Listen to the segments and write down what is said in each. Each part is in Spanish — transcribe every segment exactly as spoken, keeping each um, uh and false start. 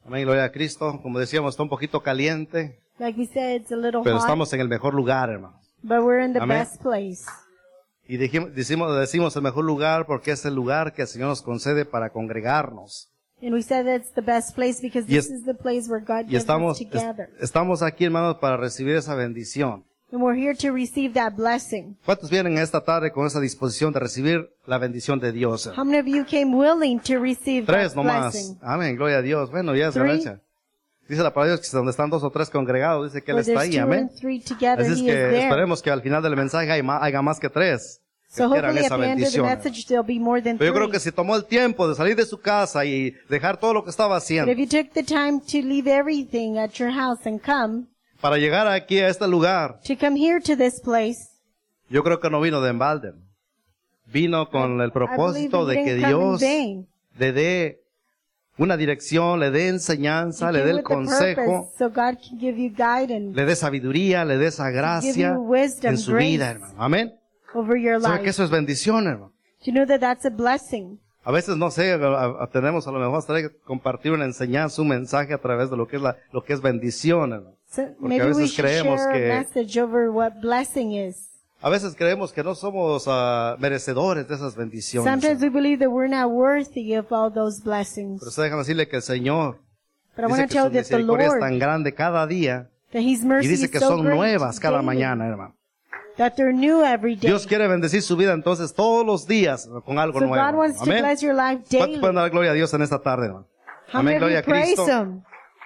Amén, gloria a Cristo. Como decíamos, está un poquito caliente, Like we said, it's a little pero hot, estamos en el mejor lugar, hermanos. but we're in the Amén. best place. Y dijimos, decimos, decimos el mejor lugar porque es el lugar que el Señor nos concede para congregarnos. And we said that's the best place because Y this es- is the place where God Y gives us estamos, together. es- estamos aquí, hermanos, para recibir esa bendición. And we're here to receive that blessing. ¿Cuántos vienen esta tarde con esa disposición de recibir la bendición de Dios? How many of you came willing to receive Tres that nomás. blessing? Amén, gloria a Dios. Bueno, ya es Three. ganancia. Dice la palabra de Dios que donde están dos o tres congregados, dice que Él Where está there's ahí. two Amén. and three together, Así es He is que there. esperemos que al final del mensaje haya más, haya más que tres que So quieran hopefully at esa the end of the bendición. message there'll be more than Pero yo three. creo que si tomó el tiempo de salir de su casa y dejar todo lo que estaba But haciendo if you took the time to leave everything at your house and come, para llegar aquí a este lugar, to come here to this place, yo creo que no vino de embalde. Vino con el I believe propósito that de you que didn't come in Dios vain. le dé una dirección, le dé enseñanza, You le dé came el with the consejo, purpose, so God can give you guidance le dé sabiduría, le dé esa gracia you wisdom, en su grace. vida, hermano. Amén. over your ¿Sabe que life. eso es bendición, hermano? Do you know that that's a blessing? A veces, no sé, a- a- tenemos a lo mejor hasta que compartir una enseñanza, un mensaje a través de lo que es la, lo que es bendición, hermano. So Porque a maybe we veces should creemos share que- a message over what blessing is. A veces creemos que no somos ah, merecedores de esas bendiciones. Sometimes hermano. we believe that we're not worthy of all those blessings. Pero usted déjame decirle que el Señor But I dice want que to su tell you that the misericordia es Lord, tan grande cada día that His y mercy dice is que so son great nuevas cada daily, mañana, hermano. that they're new every day. Dios quiere bendecir su vida entonces todos los días con algo So nuevo. God wants to Amén. bless your life ¿Cuántos daily. pueden dar gloria a Dios en esta tarde, hermano? How Amén, many of gloria you a praise Cristo. Him?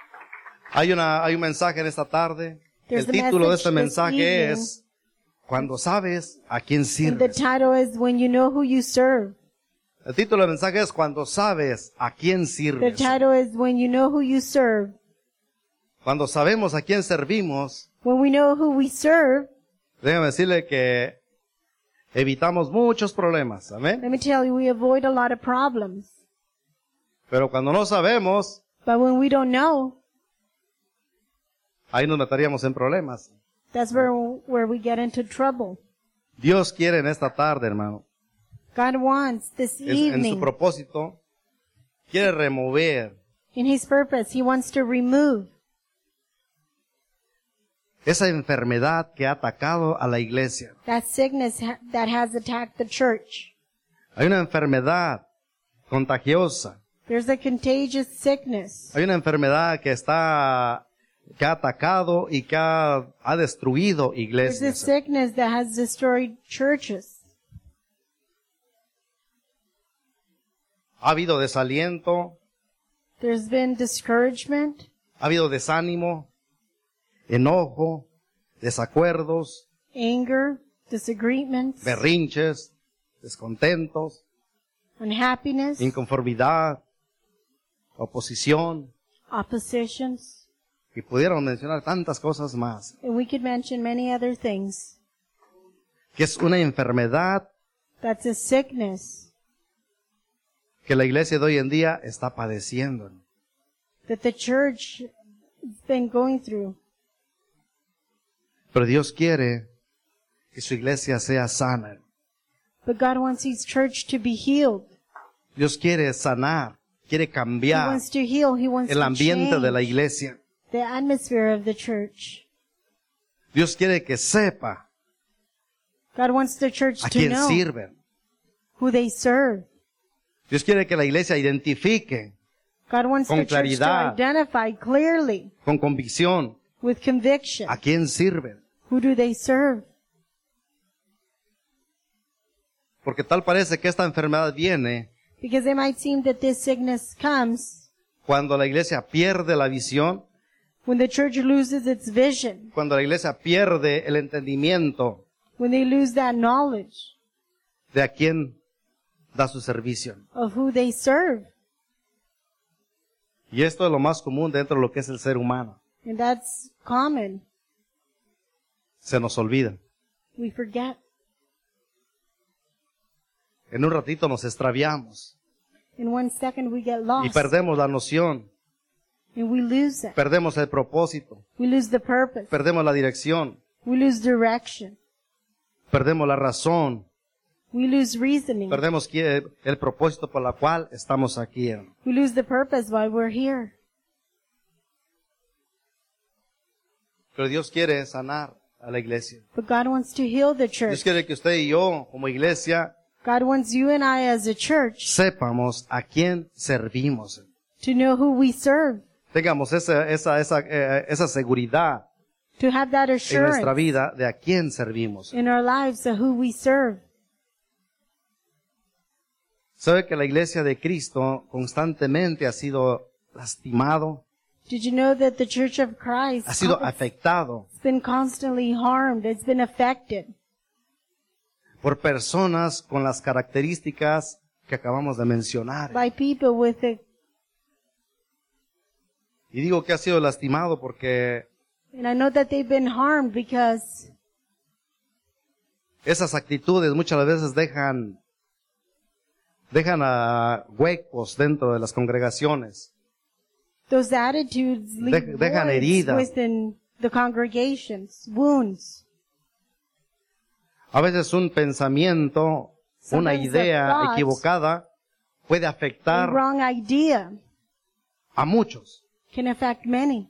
Hay una, hay un mensaje en esta tarde. There's El a título de este message this mensaje evening. es Cuando sabes a quién And the sirves. title is When You Know Who You Serve. El título del mensaje es Cuando sabes a quién The sirves. title is When You Know Who You Serve. Cuando sabemos a quién servimos, When we know who we serve, déjame decirle que evitamos muchos problemas. Amén. let me tell you, we avoid a lot of problems. Pero cuando no sabemos, But when we don't know, ahí nos meteríamos en problemas. that's where, where we get into trouble. Dios quiere en esta tarde, hermano, God wants this es- en su evening, propósito, quiere remover in His purpose, He wants to remove esa enfermedad que ha atacado a la iglesia. that sickness ha- that has attacked the church. Hay una enfermedad contagiosa. There's a contagious sickness. Hay una enfermedad que está, que ha atacado y que ha, ha destruido There's a iglesias. sickness that has destroyed churches. Ha habido desaliento, There's been discouragement. ha habido desánimo, enojo, desacuerdos, Anger, disagreements, berrinches, descontentos, unhappiness, inconformidad, oposición, oppositions, y pudiéramos mencionar tantas cosas más, and we could mention many other things. que es una enfermedad That's a sickness que la iglesia de hoy en día está padeciendo. that the church has been going through. Pero Dios quiere que su iglesia sea sana. But God wants His church to be healed. Dios quiere sanar, quiere He cambiar wants to heal. He wants el to ambiente de la change iglesia. the atmosphere of the church. Dios quiere que sepa God wants the church a to quién know sirven. who they serve. Dios quiere que la iglesia identifique God wants Con the church to claridad. identify clearly, con convicción with conviction, a quién sirven. who do they serve. Porque tal parece que esta enfermedad viene Because it might seem that this sickness comes cuando la iglesia pierde la visión, when the church loses its vision, cuando la iglesia pierde el entendimiento when they lose that knowledge de a quién da su servicio. of who they serve. Y esto es lo más común dentro de lo que es el ser humano. And that's common. Se nos olvida. We forget. En un ratito nos extraviamos In one second we get y lost. perdemos la noción, And we lose it. perdemos el propósito, We lose the purpose. perdemos la dirección, We lose direction. perdemos la razón, We lose reasoning. perdemos qui- el propósito por la cual estamos aquí. We lose the purpose while we're here. Pero Dios quiere sanar a la iglesia. But God wants to heal the Dios church. quiere que usted y yo, como iglesia, God wants you and I as a church sepamos a quién servimos. to know who we serve, Tengamos esa, esa, esa, eh, esa seguridad to have that en nuestra assurance vida de a quién servimos. in our lives of who we serve. Sabe que la iglesia de Cristo constantemente ha sido lastimado, Did you know that the Church of Christ ha sido has afectado been constantly harmed? It's been affected por personas con las características que acabamos de mencionar. by people with the, Y digo que ha sido lastimado porque and I know that they've been harmed because esas actitudes muchas veces dejan, dejan a huecos dentro de las congregaciones. those attitudes leave De- dejan voids heridas. within the congregations, wounds. A veces un pensamiento, una Sometimes a idea thought, equivocada puede A afectar wrong idea a muchos. can affect many.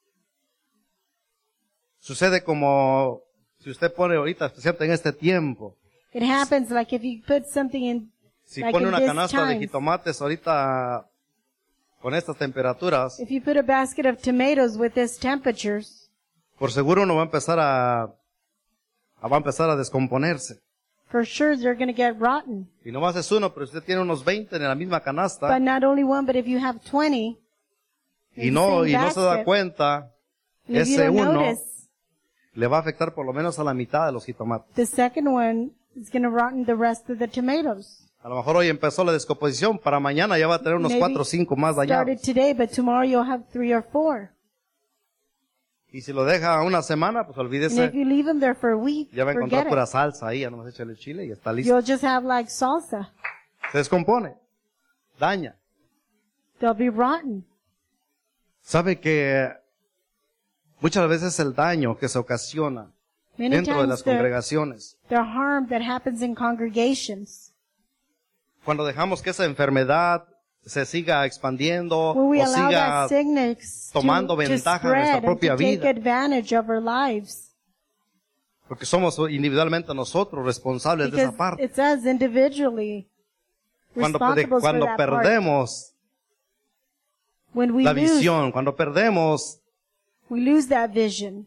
Sucede como si usted pone ahorita, especialmente en este tiempo, It happens like if you put something in, si like pone in una this canasta de times. jitomates ahorita con estas temperaturas, If you put a basket of tomatoes with these temperatures, por seguro uno va a empezar a, a- va a empezar a descomponerse. for sure they're going to get rotten. Y no más es uno, pero usted tiene unos veinte en la misma canasta But not only one, but if you have twenty, y in no, the y same no se da basket, cuenta, and if you ese don't uno notice, le va a afectar por lo menos a la mitad de los jitomates. the second one is going to rotten the rest of the tomatoes. A lo mejor hoy empezó la descomposición, para mañana ya va a tener unos Maybe cuatro o cinco más Started dañados. today, but tomorrow you'll have three or four. Y si lo deja una semana, pues And olvídese, if you leave them there for a week, ya va a encontrar forget pura it. salsa ahí, ya nomás échale el chile y está listo. You'll just have like salsa. Se descompone, daña. They'll be rotten. Sabe que muchas veces el daño que se ocasiona Many dentro de times las the, congregaciones, the harm that happens in congregations, cuando dejamos que esa enfermedad se siga expandiendo when we o allow siga that sickness to, tomando to ventaja de nuestra spread and propia to take vida. advantage of our lives. Porque somos individualmente nosotros responsables de Because esa parte. it's us individually Cuando, responsible for cuando that part. perdemos When we la lose, visión, cuando perdemos we lose that vision.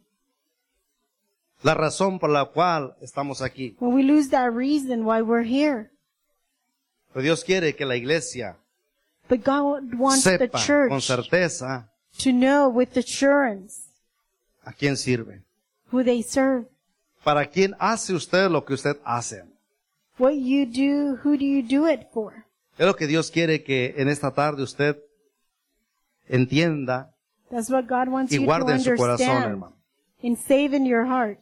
la razón por la cual estamos aquí. When we lose that reason why we're here. Pero Dios quiere que la iglesia But God wants the sepa con church certeza to know with assurance a quién sirve. who they serve. ¿Para quién hace usted lo que usted hace? What you do, who do you do it for? Es lo que Dios quiere que en esta tarde usted entienda That's what God wants y you to guarde en su corazón, understand hermano. and save in your heart.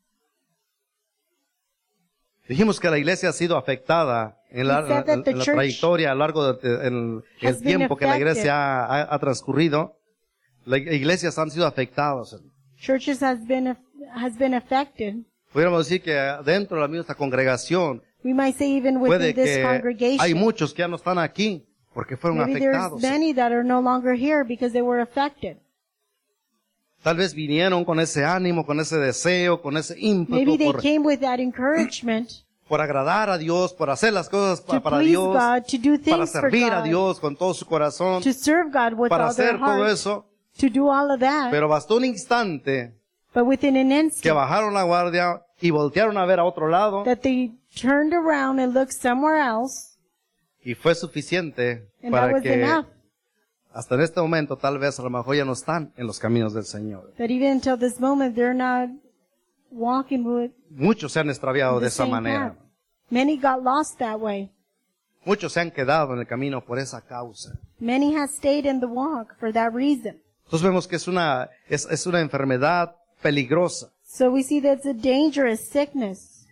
Dijimos que la iglesia ha sido afectada en la, We said that en- the en la church trayectoria a lo largo del has el been tiempo que la affected. iglesia ha, ha- ha transcurrido. Las iglesias han sido afectadas. Churches has been has been affected. Pudiéramos decir que dentro de la misma congregación We might say even puede within this que hay congregation. muchos que ya no están aquí porque fueron Maybe there's afectados. many that are no longer here because they were affected. Tal vez vinieron con ese ánimo, con ese deseo, con ese ímpetu Maybe they por, came with that encouragement por agradar a Dios, por hacer las cosas pa- to para please Dios, God, to do para things for servir a God, Dios con todo su corazón, to serve God with para all their hacer todo heart, eso. to do all of that. Pero bastó un instante But within an que instant, bajaron la guardia y voltearon a ver a otro lado that they turned around and looked somewhere else, y fue suficiente and that para was que enough. hasta en este momento tal vez a lo mejor ya no están en los caminos del Señor. That even until this moment, they're not walking with Muchos se han extraviado de the esa same manera. path. Many got lost that way. Muchos se han quedado en el camino por esa causa. Many have stayed in the walk for that reason. Entonces vemos que es una, es, es una enfermedad peligrosa. So we see that it's a dangerous sickness.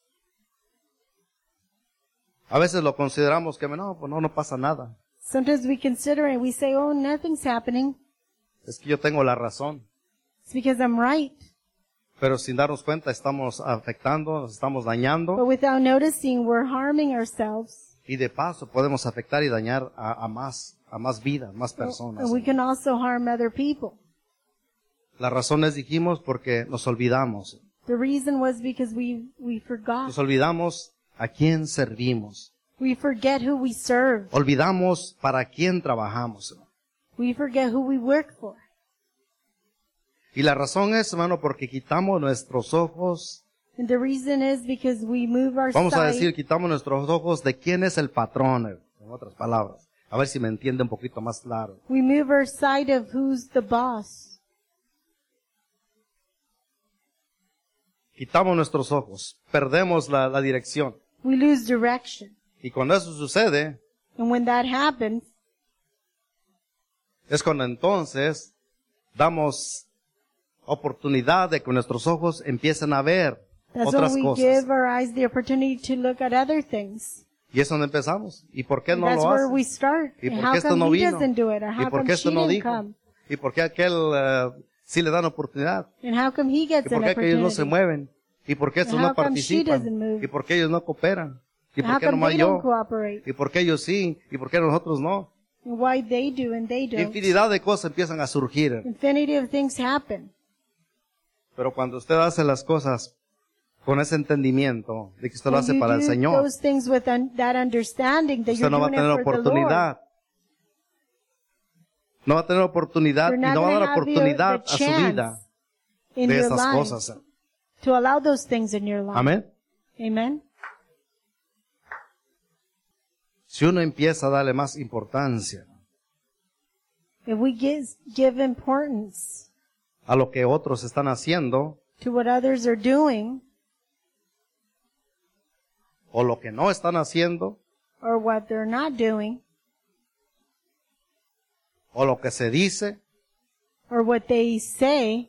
A veces lo consideramos que no, pues no, no pasa nada. Sometimes we consider it, we say, oh, nothing's happening. Es que yo tengo la razón. It's because I'm right. Pero sin darnos cuenta estamos afectando, nos estamos dañando But without noticing, we're harming ourselves. y de paso podemos afectar y dañar a, a más, a más vidas, más personas. And we can also harm other people. La razón es, dijimos, porque nos olvidamos. The reason was because we, we forgot. Nos olvidamos a quién servimos. We forget who we serve. Olvidamos para quién trabajamos. We forget who we work for. Y la razón es, hermano, porque quitamos nuestros ojos. And the reason is because we move our Vamos a sight. decir, quitamos nuestros ojos de quién es el patrón, en otras palabras. A ver si me entiende un poquito más claro. We move our sight of who's the boss. Quitamos nuestros ojos, perdemos la, la dirección. We lose direction. Y cuando eso sucede, And when that happens, es cuando entonces damos oportunidad de que nuestros ojos empiecen a ver that's otras when we cosas. give our eyes the opportunity to look at other things. Y es donde empezamos. ¿Y por qué And no that's lo where hace? we start. ¿Y And por how qué esto come no he vino? doesn't do it? Or ¿Y how por come qué she esto no didn't dijo? come? ¿Y por qué aquel eh, sí le dan oportunidad? And how come he ¿Y gets por an qué aquellos no opportunity? se mueven? ¿Y por qué estos And no how come she participan? doesn't move? ¿Y por qué ellos no cooperan? ¿Y And por how qué come nomás they don't yo? cooperate? ¿Y por qué ellos sí? ¿Y por qué nosotros no? And why they do and they don't? Infinidad de cosas empiezan a surgir. Infinity of things happen. Pero cuando usted hace las cosas con ese entendimiento de que usted lo When hace you para el do Señor, those things with un- that understanding that usted you're no va a doing tener it for the Lord, oportunidad. No va a tener oportunidad you're y not no va a going dar to have the, oportunidad the a su vida chance in de your esas life cosas. to allow those things in your life. Amén. Amen. Si uno empieza a darle más importancia If we give, give importance a lo que otros están haciendo to what others are doing o lo que no están haciendo or what they're not doing o lo que se dice, or what they say,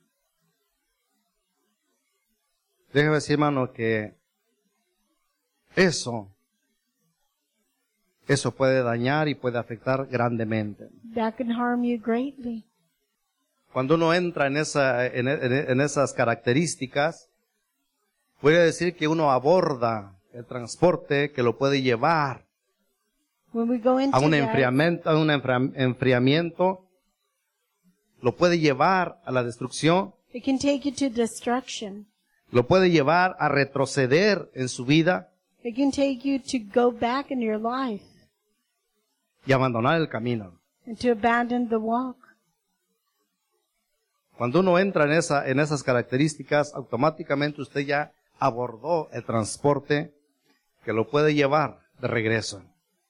déjeme decir, hermano, que eso, eso puede dañar y puede afectar grandemente. that can harm you greatly. Cuando uno entra en, esa, en, en- en esas características, voy a decir que uno aborda el transporte que lo puede llevar When we go into a un that, enfriamiento, a un enfria- enfriamiento, lo puede llevar a la destrucción, it can take you to destruction. lo puede llevar a retroceder en su vida It can take you to go back in your life y abandonar el camino. and to abandon the walk. Cuando uno entra en, esa, en esas características, automáticamente usted ya abordó el transporte que lo puede llevar de regreso.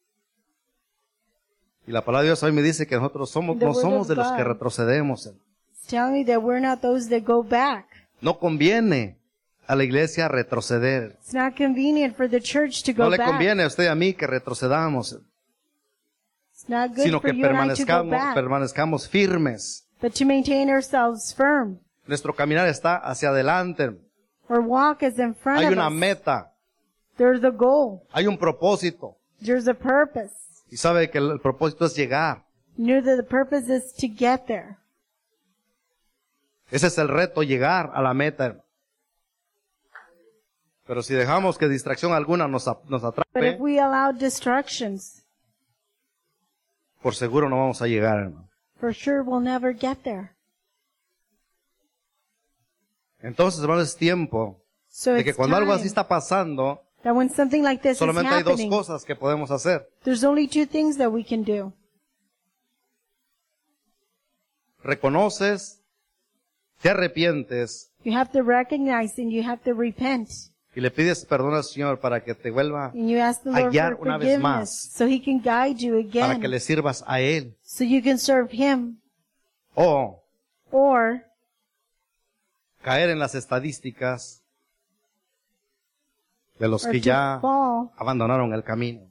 Y la palabra de Dios hoy me dice que nosotros somos, The no word somos of de los que God. retrocedemos. It's telling me that we're not those that go back. No conviene a la iglesia retroceder. It's not convenient for the church to go No le back. conviene a usted y a mí que retrocedamos, It's not good sino for que you and I to go permanezcamos, back, permanezcamos firmes. but to maintain ourselves firm. Nuestro caminar está hacia adelante. Our walk is in front Hay of una us. meta, There's a goal. hay un propósito. There's a purpose. Y sabe que el, el propósito es llegar. You know that the purpose is to get there. Ese es el reto, llegar a la meta. Pero si dejamos que distracción alguna nos, a- nos But atrape, if we allow distractions, por seguro no vamos a llegar, hermano. for sure we'll never get there. Entonces, hermano, es tiempo So de que it's cuando algo así time está pasando, that when something like this is solamente hay dos happening, cosas que podemos hacer. there's only two things that we can do. Reconoces, te arrepientes You have to recognize and you have to repent. y le pides perdón al Señor para que te vuelva, And you ask the a Lord guiar for una vez forgiveness más. so He can guide you para again, que le sirvas a Él. so you can serve Him. O Or caer en las estadísticas de los or que to ya fall abandonaron el camino.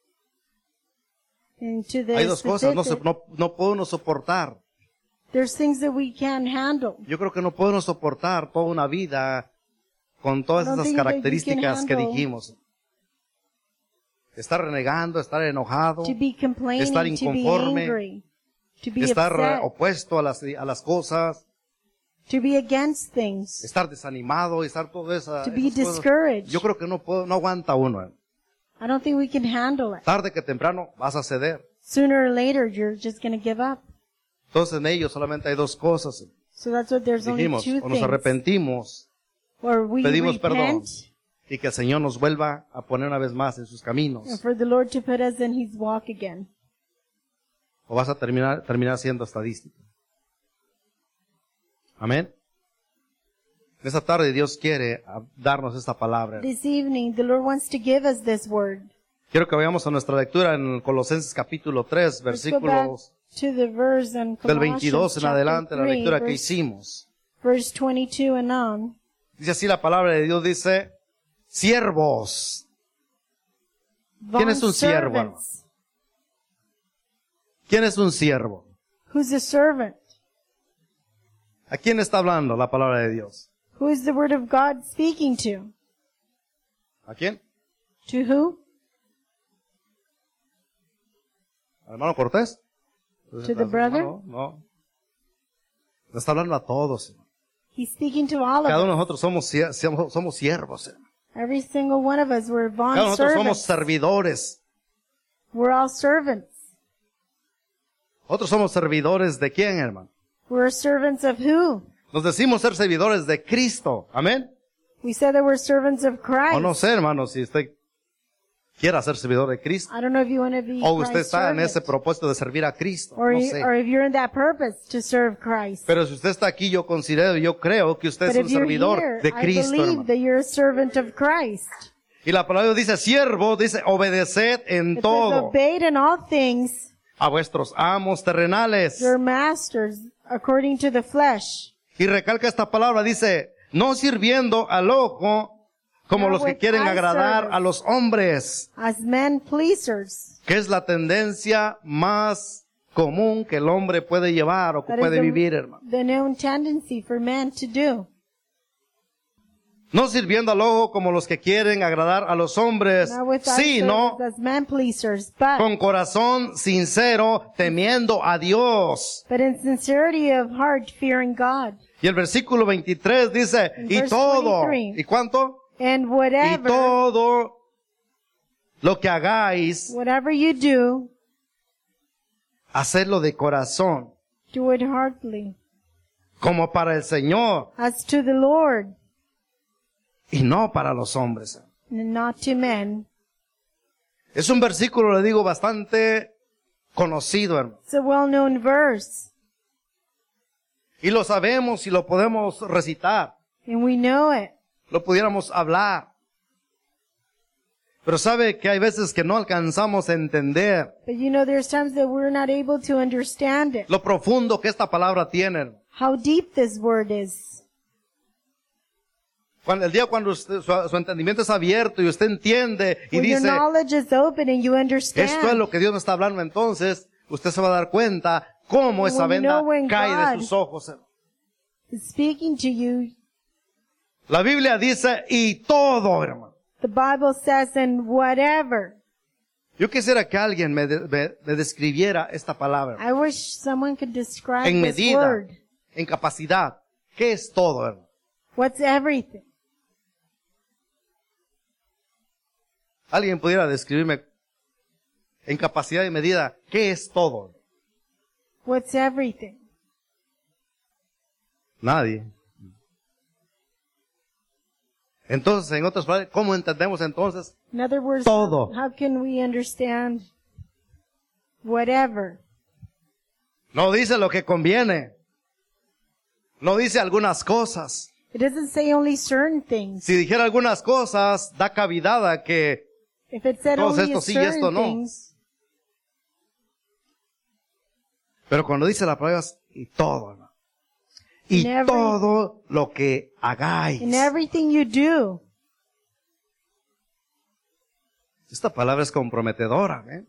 into the Hay dos cosas, no, se- statistic. no, no puedo uno soportar. There's things that we can't handle. Yo creo que no puedo uno soportar toda una vida con todas I don't esas think that you características can que handle- dijimos. Estar renegando, estar enojado, To be complaining, estar to be inconforme, angry, to be estar eh, upset, opuesto a las, a las cosas, to be against things, estar desanimado, estar todo eso. to be discouraged. Yo creo que no puedo, no aguanta uno. eh. I don't think we can handle it. Tarde que temprano vas a ceder. Sooner or later, you're just going to give up. Entonces en ellos solamente hay dos cosas. So that's what there's only Dijimos, two o nos things. arrepentimos, Or we pedimos perdón repent, y que el Señor nos vuelva a poner una vez más en sus caminos. and for the Lord to put us in His walk again. O vas a terminar, terminar siendo estadística. Amén. Esta tarde Dios quiere ah, darnos esta palabra. This evening, the Lord wants to give us this word. Quiero que vayamos a nuestra lectura en Colosenses capítulo tres, Let's go back versículos to the verse in del Colossians veintidós en chapter adelante, la three, lectura que verse, hicimos. verse twenty-two and on. Dice así la palabra de Dios, dice, siervos. ¿Quién es un siervo, hermano? Bondservants. ¿Quién es un siervo? Who's a servant? ¿A quién está hablando la palabra de Dios? Who is the word of God speaking to? ¿A quién? To who? ¿Al hermano Cortés? To the brother? No, no. Le está hablando a todos, hermano. He's speaking to all of Cada uno de us. nosotros somos, sie- somos, somos siervos, hermano. Every single one of us, we're Cada uno bond de nosotros somos servants. servidores. We're all servants. Otros somos servidores de quién, hermano? We're servants of who? Nos decimos ser servidores de Cristo. Amén. We said that we're servants of Christ. O no sé, hermano, si usted quiera ser servidor de Cristo. I don't know if you want to be O usted Christ's está en servant, ese propósito de servir a Cristo. or, No you- sé. or if you're in that purpose to serve Christ. Pero si usted está aquí, yo considero, yo creo que usted But es if un you're servidor here, de I Cristo, believe hermano. that you're a servant of Christ. Y la palabra de Dios dice, siervo, dice, obedeced en It says, todo obeyed in all things a vuestros amos terrenales. your masters according to the flesh. Y recalca esta palabra, dice, no sirviendo al ojo como Not los que with quieren eye agradar service. a los hombres, As men pleasers. que es la tendencia más común que el hombre puede llevar o que That is puede the, vivir, hermano. the known tendency for man to do. No sirviendo al ojo como los que quieren agradar a los hombres, Not with eye sino service as men pleasers, but, con corazón sincero, temiendo a Dios. but in sincerity of heart, fearing God. Y el versículo veintitrés dice, In y verse todo, twenty-three. ¿y cuánto? And Y whatever, todo lo que hagáis, whatever you do, hacedlo de corazón, do it heartily, como para el Señor, as to the Lord, y no para los hombres. and not to men. Es un versículo, le digo, bastante conocido, hermano. It's a well-known verse, Y lo sabemos y lo podemos recitar. and we know it. Lo pudiéramos hablar. Pero sabe que hay veces que no alcanzamos a entender But you know, there's times that we're not able to understand it. lo profundo que esta palabra tiene. How deep this word is. Cuando, el día cuando usted- su, su entendimiento es abierto y usted entiende y When your dice, knowledge is open and you understand. esto es lo que Dios me está hablando, entonces usted se va a dar cuenta cómo esa When you venda know when cae God- de sus ojos. is speaking to you. La Biblia dice, y todo, hermano. The Bible says, and whatever. Yo quisiera que alguien me, de- me- me describiera esta palabra. I wish someone could describe En this medida, word. en capacidad. ¿Qué es todo, hermano? What's everything? Alguien pudiera describirme en capacidad y medida, ¿qué es todo? What's everything? Nadie. Entonces, en otras palabras, ¿cómo entendemos entonces? In other words, Todo. how can we understand whatever? No dice lo que conviene. No dice algunas cosas. It doesn't say only certain things. Si dijera algunas cosas, da cavidad a que If it said Todos only esto sí y certain esto no. things, Pero cuando dice la palabra es y todo, hermano. Y In every- todo lo que hagáis. in everything you do, Esta palabra es comprometedora, ¿eh?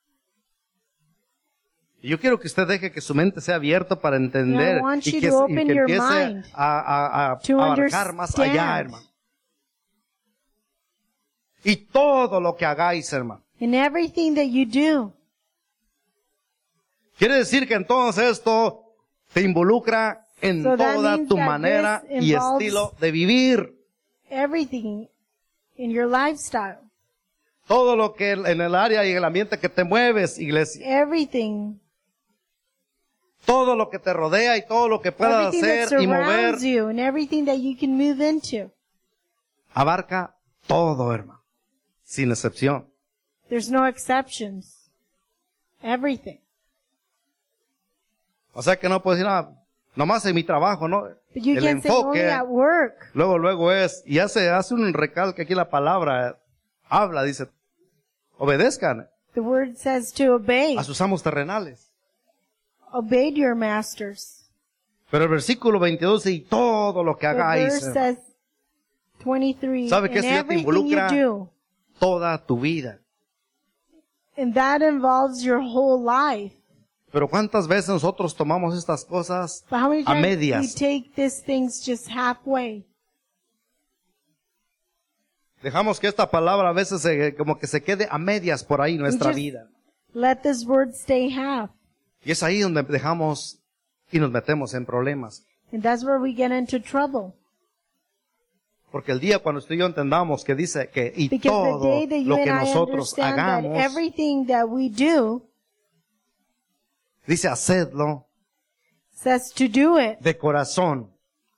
Y yo quiero que usted deje que su mente sea abierta para entender I want y you que, to y open que your empiece mind a, a, a to abarcar más allá, understand. hermano. Y todo lo que hagáis, hermano. in everything that you do. Quiere decir que entonces esto te involucra en So that toda means tu that manera this y involves- estilo de vivir. Everything in your lifestyle. Todo lo que en el área y en el ambiente que te mueves, iglesia. Everything todo lo que te rodea y todo lo que puedas Everything that hacer y mover, surrounds you and everything that you can move into. abarca todo, hermano, sin excepción. There's no exceptions. Everything. O sea que no puedes decir, ah, nomás en mi trabajo, ¿no? But you El can't say only enfoque, at work. luego, luego es, y hace, hace un recalque aquí la palabra, habla, dice, obedezcan The word says to obey. a sus amos terrenales. Obey your masters. Pero el versículo veintidós dice, y todo lo que The hagáis, verse says twenty-three. ¿sabe que And esto ya te everything you involucra? do. toda tu vida. And that involves your whole life. Pero ¿cuántas veces nosotros tomamos estas cosas But how many a times we medias? take these things just halfway? Dejamos que esta palabra a veces se- como que se quede a medias por ahí en nuestra just- vida. Let this word stay half. Y es ahí donde dejamos y nos metemos en problemas. And that's where we get into trouble. Porque el día cuando usted y yo entendamos que dice que y Because the todo day that you lo and que I nosotros understand that hagamos, everything that we do dice hacedlo says to do it de corazón,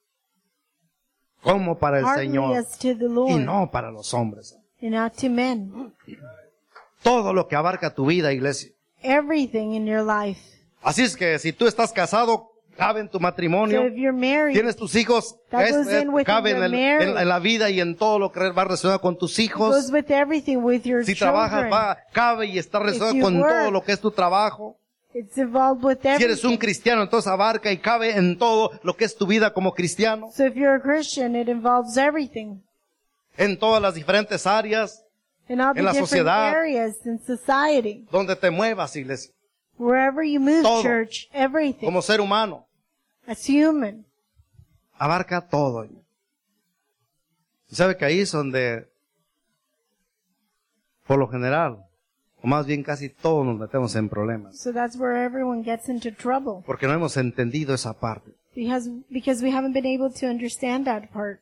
como para el heartily Señor as to the y Lord no para los hombres. and not to men. Todo lo que abarca tu vida, iglesia. Everything in your life. Así es que si tú estás casado, cabe en tu So matrimonio. if you're married, Tienes tus hijos, That es- goes es- in with cabe en, your el- marriage. en- en la vida y en todo lo que va relacionado con tus it hijos. goes with everything, with your Si children. trabajas, va, cabe y está relacionado you con work, todo lo que es tu trabajo. It's involved with Si eres un everything. cristiano, entonces abarca y cabe en todo lo que es tu vida como cristiano, So if you're a Christian, it involves everything. en todas las diferentes áreas In all the En la different sociedad. areas in society. donde te muevas, iglesia, Wherever you move, Todo. church, everything. como ser humano. As human. Abarca todo. Y sabe que ahí es donde, por lo general, o más bien casi todos nos metemos en problemas. So that's where everyone gets into trouble. Porque no hemos entendido esa parte. Because, because we haven't been able to understand that part.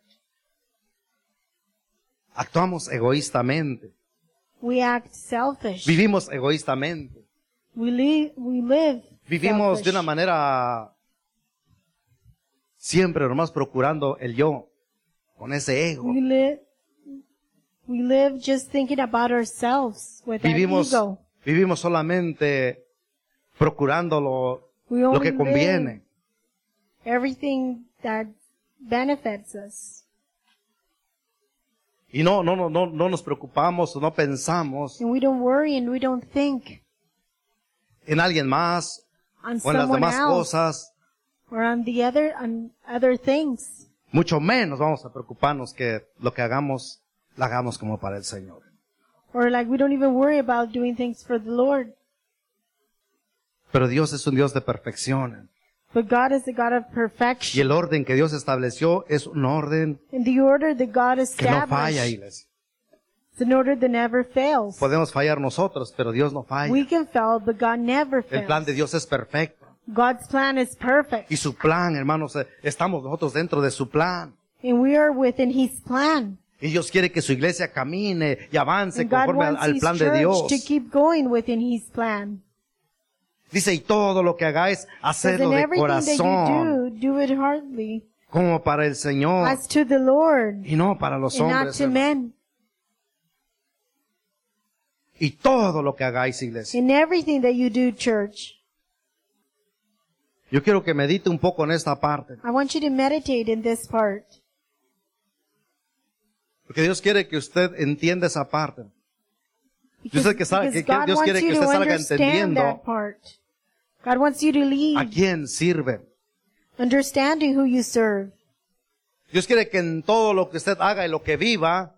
Actuamos egoístamente. We act selfish. Vivimos egoístamente. We, li- we live Vivimos selfish. de una manera siempre nomás procurando el yo, con ese ego. We live, we live just thinking about ourselves with that Vivimos, ego. vivimos solamente procurando lo, We lo only que conviene. live everything that benefits us. Y no, no, no, no, no nos preocupamos o no pensamos And we don't worry and we don't think en alguien más on o en las someone demás else cosas. or on the other, on other things. Mucho menos vamos a preocuparnos que lo que hagamos, lo hagamos como para el Señor. Or like we don't even worry about doing things for the Lord. Pero Dios es un Dios de perfección. But God is the God of Y perfection. el orden que Dios estableció es un orden And the order that God que no falla, established iglesia. is an order that never fails. Podemos fallar nosotros, pero Dios no falla. We can fail, but God never El plan de fails. Dios es perfecto. God's plan is perfect. Y su plan, hermanos, eh, estamos nosotros dentro de su plan. And we are within His plan. Y Dios quiere que su iglesia camine y avance And God conforme al, wants al His plan de church Dios. to keep going within His plan. Dice, y todo lo que hagáis, Because hacedlo in de everything that corazón, you do, do it heartily, como para el Señor, as to the Lord, y no para los and not hombres. to hermano. men. Y todo lo que hagáis, iglesia. In everything that you do, church, Yo quiero que medite un poco en esta parte. I want you to meditate in this part. Porque Dios quiere que usted entienda esa parte. Because, sé que sabe- because que- que God Dios wants quiere you que to usted salga understand entendiendo that part. God wants you to ¿A lead, quién sirve? understanding who you serve. Dios quiere que en todo lo que usted haga y lo que viva,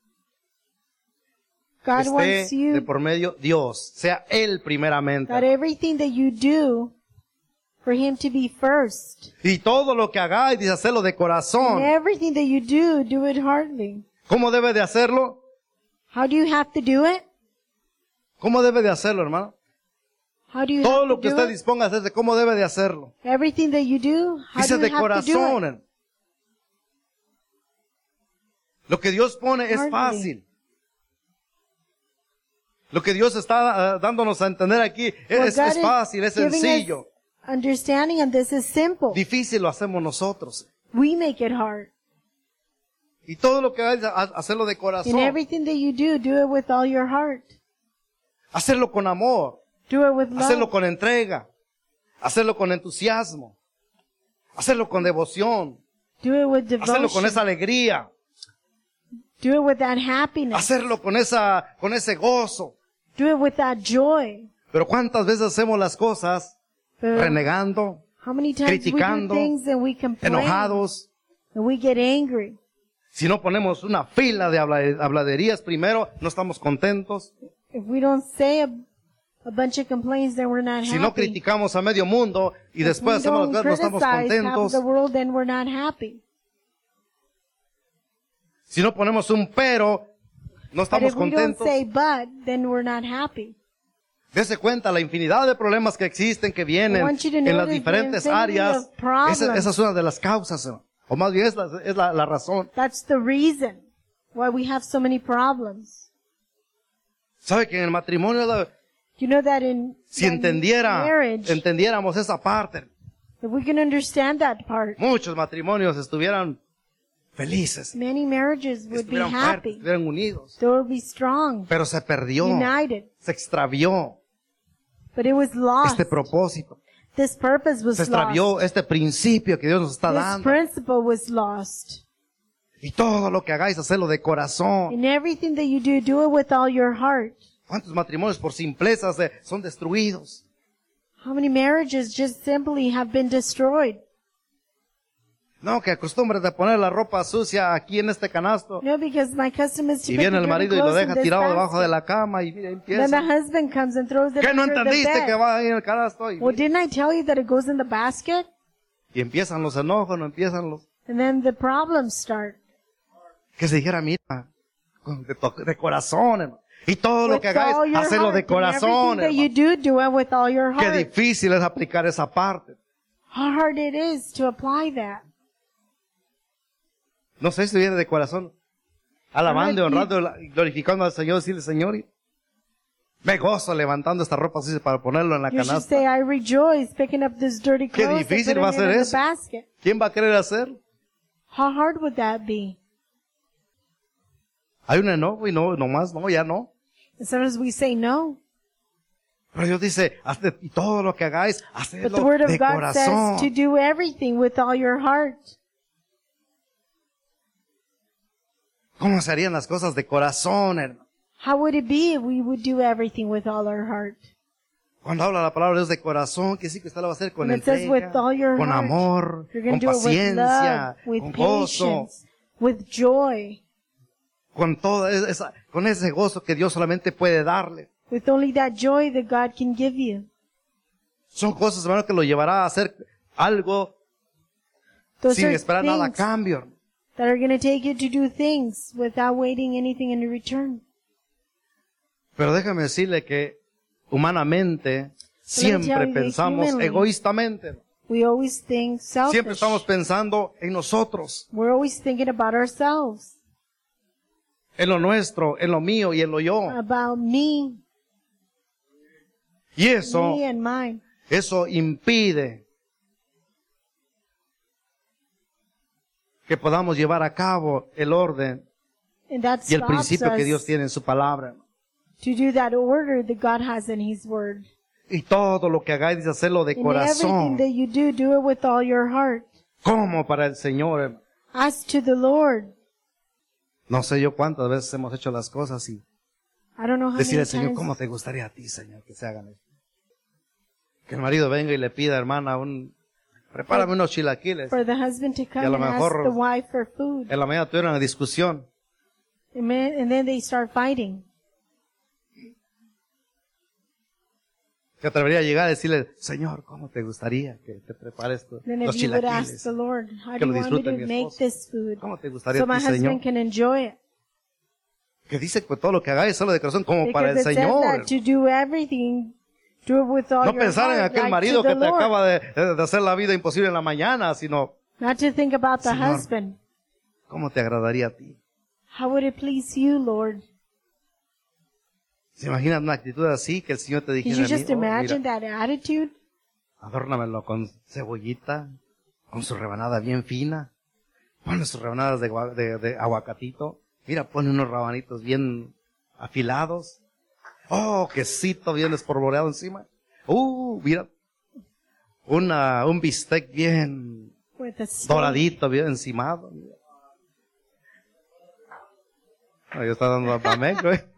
God wants esté de you, por medio Dios, sea Él primeramente. that everything that you do, for Him to be first. Y todo lo que hagáis, dice, hacerlo de And corazón. everything that you do, do it heartily. ¿Cómo debe de hacerlo? How do you have to do it? ¿Cómo debe de hacerlo, hermano? How do you Todo have lo to que do usted it? disponga a hacerse, ¿cómo debe de hacerlo? Everything that you do, how Dice do de you have to do it? corazón. Lo que Dios pone es Hardly. fácil. Lo que Dios está ah, dándonos a entender aquí es, What es- God es is fácil, es giving us sencillo. understanding of this is simple. Difícil lo hacemos nosotros. We make it hard. Y todo lo que hagas, ha- hacerlo de In corazón. everything that you do, do it with all your heart. Hacerlo con amor. Do it with Hacerlo love. con entrega. Hacerlo con entusiasmo. Hacerlo con devoción. Do it with Hacerlo con esa devotion. alegría. Do it with that happiness. Hacerlo con esa, con ese gozo. Do it with that joy. Pero ¿cuántas veces hacemos las cosas But renegando, how many times we do criticando, things and we complain enojados? and we get angry? Si no ponemos una fila de habla- habladerías primero, no estamos contentos. If we don't say a, a bunch of complaints, then we're not Si no happy. criticamos a medio mundo y If we después hacemos don't las cosas, no estamos criticize half contentos. the world, then we're not happy. Si no ponemos un pero, no But estamos if we don't contentos. say but, then we're not happy. Dese cuenta la infinidad de problemas que existen, que I vienen want you to en las notice the diferentes infinity áreas. of problems. Esa, esa es una de las causas, hermano. O más bien es la, es la, la razón. That's the reason why we have so many problems. ¿Sabe que en el matrimonio, la- You know that in si that in entendiera, marriage, entendiéramos esa parte, if we can understand that part, muchos matrimonios estuvieran felices, many marriages would be estuvieran fuertes, happy. estuvieran unidos. They would be strong, Pero se perdió, united. se extravió But it was lost. este propósito. This purpose was Se extravió lost. este principio que Dios nos está This dando. principle was lost. Y todo lo que hagáis, hacerlo de corazón. In everything that you do, do it with all your heart. ¿Cuántos matrimonios por simplezas eh, son destruidos? How many marriages just simply have been destroyed? No, que acostumbres de poner la ropa sucia aquí en este canasto. No, because my custom is to Y put the viene el dirty marido y lo clothes in deja this tirado debajo de basket. la cama y mira, Then the empieza. husband comes and throws it ¿Qué no under the entendiste que bed. va ahí en el canasto? Y, Well, didn't I tell you that it goes in the basket? y empiezan los enojos, no empiezan los... And then the problems start. Que se dijera, mira, con- de, to- de corazón, hermano. Y todo lo With que hagáis, all your hacelo heart. de And corazón, everything that you hermano. do, do it with all your Qué heart. difícil es aplicar esa parte. How hard it is to apply that. No sé si viene de corazón. Alabando y Ahora, honrando y glorificando al Señor, decirle, Señor, y me gozo levantando esta ropa así para ponerlo en la You should canasta. say, I rejoice picking up this dirty Qué clothes and difícil putting va a it ser in the eso. basket. ¿Quién va a querer hacerlo? How hard would that be? Hay un enojo y no, nomás, no, ya no. And sometimes we say no. Pero Dios dice, hazte, y todo lo que hagáis, But the hacedlo Word of de God corazón. says to do everything with all your heart. ¿Cómo se harían las cosas de corazón, hermano? How would it be if we would do everything with all our heart? Cuando habla la palabra de Dios de corazón, que sí que usted lo va a hacer con And it says entrega, with all your con heart. amor, You're con going to do it with paciencia, love, with con gozo, patience, with joy, con toda esa, con ese gozo que Dios solamente puede darle. with only that joy that God can give you. Son cosas, hermano, que lo llevará a hacer algo Those sin are esperar nada a things cambio, hermano. that are going to take you to do things without waiting anything in return. Pero déjame decirle que humanamente siempre tell you that pensamos humanly, egoístamente. We always think selfish. Siempre estamos pensando en nosotros, We're always thinking about ourselves, en lo nuestro, en lo mío y en lo yo. about me, Y eso, me and mine. eso impide que podamos llevar a cabo el orden And that y el stops principio que Dios us tiene en su palabra. to do that order that God has in His Word. Y todo lo que hagáis, dice, hacerlo de In everything corazón, that you do, do it with all your heart. como para el Señor, hermano. As to the Lord. No sé yo cuántas veces hemos hecho las cosas y I don't know how decirle many al Señor, times ¿cómo te gustaría a ti, Señor, que se hagan esto? Que el marido venga y le pida, hermana, un, prepárame unos chilaquiles. for the husband to come a lo and ask mejor- the wife for food. En la mañana tuvieron una discusión. And then and then they start fighting. Se atrevería a llegar a decirle, Señor, ¿cómo te gustaría que te prepares esto? Then los if you would ask chilaquiles? the Lord, how Que do lo you want me disfrute to mi make esposo. this food? ¿Cómo te gustaría So a my ti, Señor? husband can enjoy it. Que dice que todo lo que hagáis, solo de corazón, como para el Because it says Señor. that to do everything, do it with all No your pensar en heart, aquel like marido to que the te Lord. acaba de, de hacer la vida imposible en la mañana, sino, Not to think about the Señor. husband. ¿cómo te agradaría a ti? How would it please you, Lord? ¿Se imaginan una actitud así que el Señor te Can dijera you a mí, just "Oh, imagine mira, that attitude? Adórnamelo con cebollita, con su rebanada bien fina. Ponle sus rebanadas de, gua- de, de aguacatito. Mira, pone unos rabanitos bien afilados. Oh, quesito bien espolvoreado encima. Uh, mira. Una, un bistec bien with a steak. doradito, bien encimado. Mira. Ahí está dando a Pameco, ¿eh?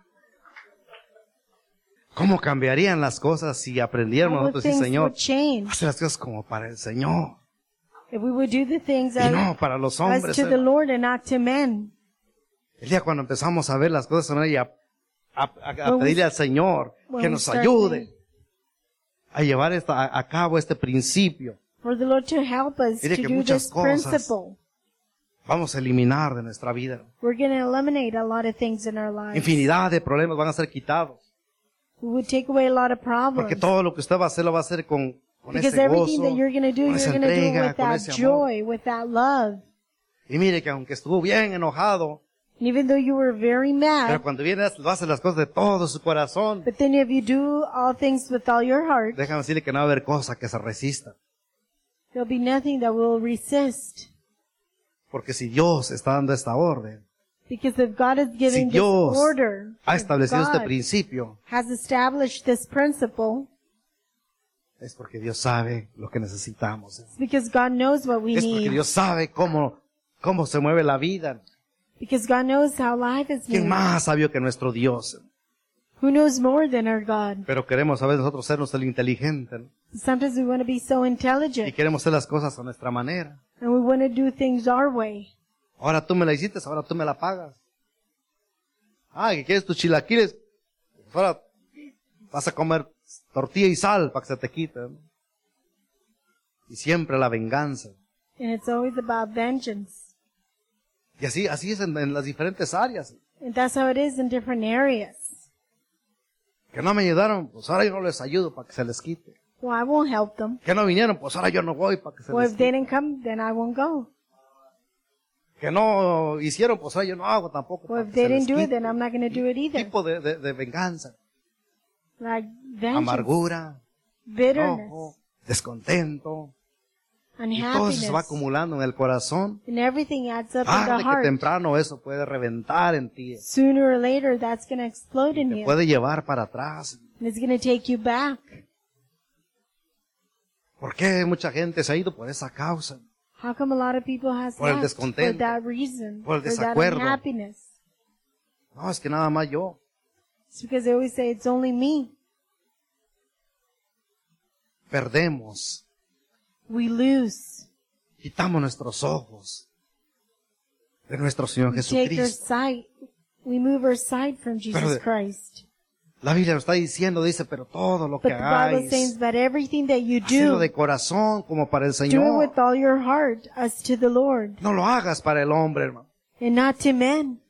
¿Cómo cambiarían las cosas si aprendiéramos How would nosotros, sí, things Señor, would change hacer las cosas como para el Señor if we would do the things y as, no para los as hombres? to ¿eh? the Lord and not to men? El día cuando empezamos a ver las cosas y a, a, a- a When we- pedirle al Señor when que we nos start ayude a llevar esta, a, a cabo este principio, For the Lord to help us Mire to que do muchas this cosas- principle. vamos a eliminar de nuestra vida. We're going to eliminate a lot of things in our lives. Infinidad de problemas van a ser quitados. We would take away a lot of problems. Porque todo lo que usted va a hacer lo va a hacer con, con Because ese everything gozo, that you're going to do, con you're esa going to do it entrega, with con that ese amor. joy, with that love. Y mire que aunque estuvo bien enojado, And even though you were very pero mad, cuando viene lo hace las cosas de todo su corazón, but then if you do all things with all your heart, déjame decirle que no va a haber cosa que se resista. there'll be nothing that will resist. Porque si Dios está dando esta orden, Because if God is si giving this Dios order, ha if establecido este God principio, has established this principle, es porque Dios sabe lo que necesitamos. it's because God knows what we Es porque need. Dios sabe cómo, cómo se mueve la vida. Because God knows how life is ¿Quién made. más sabio que nuestro Dios? Who knows more than our God? Pero queremos a veces nosotros sernos el inteligente, ¿no? Sometimes we want to be so Y intelligent queremos hacer las cosas a nuestra manera. and we want to do things our way. Ahora tú me la hiciste, ahora tú me la pagas. Ah, que quieres tus chilaquiles. Pues ahora vas a comer tortilla y sal para que se te quite, ¿no? Y siempre la venganza. And it's always about vengeance. Y así, así es en, en las diferentes áreas. And that's how it is in different areas. Que no me ayudaron, pues ahora yo no les ayudo para que se les quite. Well, I won't help them. Que no vinieron, pues ahora yo no voy para que se Well, les if they quite. didn't come, then I won't go. Que no hicieron, pues ahora yo no hago tampoco Well, para if que they se les didn't do it, quite. then I'm not going to do it either. Tipo de, de, de venganza, Like vengeance, amargura, bitterness, enojo, descontento. Y todo eso se va unhappiness, acumulando en el corazón. and everything adds up in Tarde the que heart. temprano eso puede reventar en ti. Sooner or later, that's going to explode in Te you. puede llevar para atrás. And it's going to take you back. ¿Por qué mucha gente se ha ido por esa causa? How come a lot of people has Por el left for descontento, that reason, por el for that desacuerdo. unhappiness? No, es que nada más yo. It's because they always say it's only me. Perdemos. We lose. Quitamos nuestros ojos de nuestro Señor We take our Jesucristo. sight. We move our sight from Pero Jesus de- Christ. La Biblia lo está diciendo, dice, pero todo lo que But the Bible hagáis, says that everything that you hacelo do, de corazón como para el do it Señor. with all your heart as to the Lord No lo hagas para el hombre, hermano. and not to men.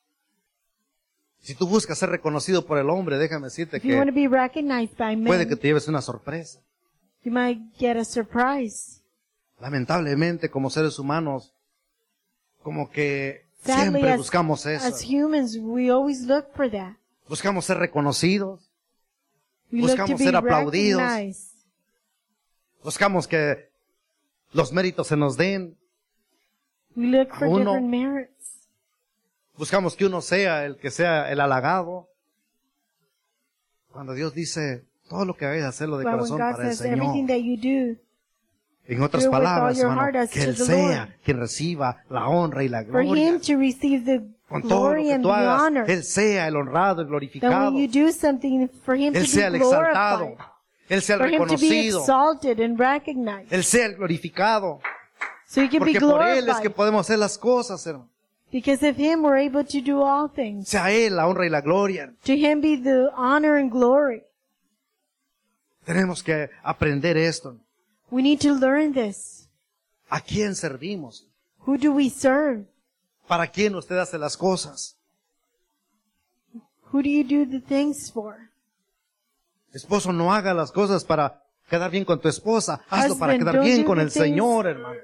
Si tú buscas ser reconocido por el hombre, déjame decirte If you want to que be recognized by puede que men, te lleves una sorpresa. you might get a surprise. Lamentablemente, como seres humanos, como que Sadly, siempre as, buscamos as eso. humans, we always look for that. Buscamos ser reconocidos, We look to Buscamos be ser aplaudidos. recognized. buscamos que los méritos se nos den, We look for A uno. different merits. buscamos que uno sea el que sea el halagado. Cuando Dios dice, todo lo que hagáis, hacerlo de But when corazón God para el says everything Señor. that you do, En otras do it with palabras, all your hermano, heart as que to Él the sea Lord. quien reciba la honra y la for gloria. Him to receive the Con todo lo glory que and tú the hagas, honor. Él sea el honrado y That glorificado. when you do something, for Him to Él sea be el exaltado. glorified. Él sea el For Him to be reconocido. exalted and recognized. Él sea el glorificado. So He can be Porque por Él es glorified. que podemos hacer las cosas, hermano. Because of Him, we're able to do all things. Sea Él la honra y la gloria. To Him be the honor and glory. Tenemos que aprender esto. We need to learn this. ¿A quién servimos? Who do we serve? ¿Para quién usted hace las cosas? Who do you do the things for? Esposo, no haga las cosas para quedar bien con tu esposa. Hazlo para Husband, quedar don't bien do con the el things- Señor, hermano.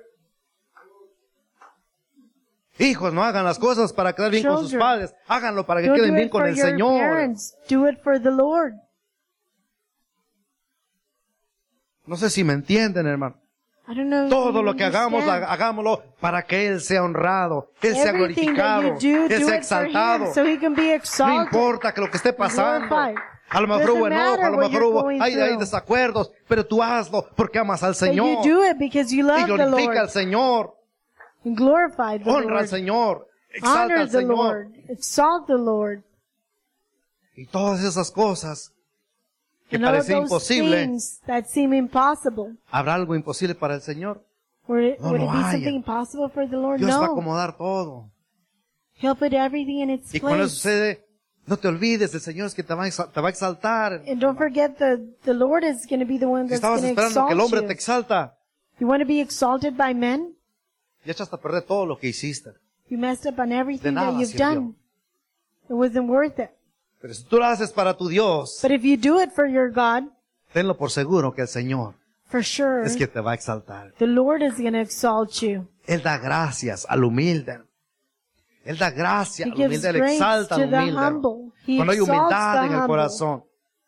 Hijos, no hagan las cosas para quedar bien con sus Children, padres. Háganlo para que Don't queden do bien it con for el your Señor. parents. Do it for the Lord. No sé si me entienden, hermano. I don't know if Todo you lo que hagamos, understand. ha- hagámoslo para que Él sea honrado, Él sea Everything that glorificado, you do, Él do sea it for exaltado. Him so He can be No exalted. importa que lo que esté pasando. glorified. A lo mejor Doesn't hubo enojo, matter a lo what mejor you're hubo, going hay, hay through. desacuerdos, pero tú hazlo porque amas al But you Señor. do it because you Y love the glorifica al Lord. Señor, And glorify the honra al Lord. Señor, exalta Honor al the Señor. Lord. Exalt the Lord. Y todas esas cosas que And all parecen those imposibles, things that seem impossible. ¿habrá algo imposible para el Señor? Would it, No would lo it be haya. something impossible for the Lord? Dios va a No. acomodar todo. He'll put everything in its Y cuando place. eso sucede, no te olvides, el Señor es que te va a exa- te va a exaltar. And don't forget the, the Lord is going to be the one Si that's estabas going to esperando que el hombre exalt te you. exalta, You want to be exalted by men? ya echaste a perder todo lo que hiciste. You messed up on everything nada that you've sirvió. done. It wasn't worth it. Pero si tú lo haces para tu Dios, But if you do it for your God, tenlo por seguro que el Señor for sure, es que te va a exaltar. the Lord is going to exalt you. Él da gracias al humilde. Él da gracia He al gives humilde, Él grace exalta to al the humilde. humble. He Cuando hay exalts humildad the en el humble. corazón,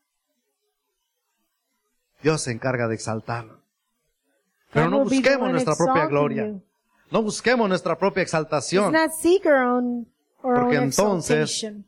Dios se encarga de exaltarlo. Pero God no will be the busquemos one nuestra propia exalting gloria. you. No busquemos nuestra propia Let's exaltación. not seek our own, our Porque own entonces- exaltation.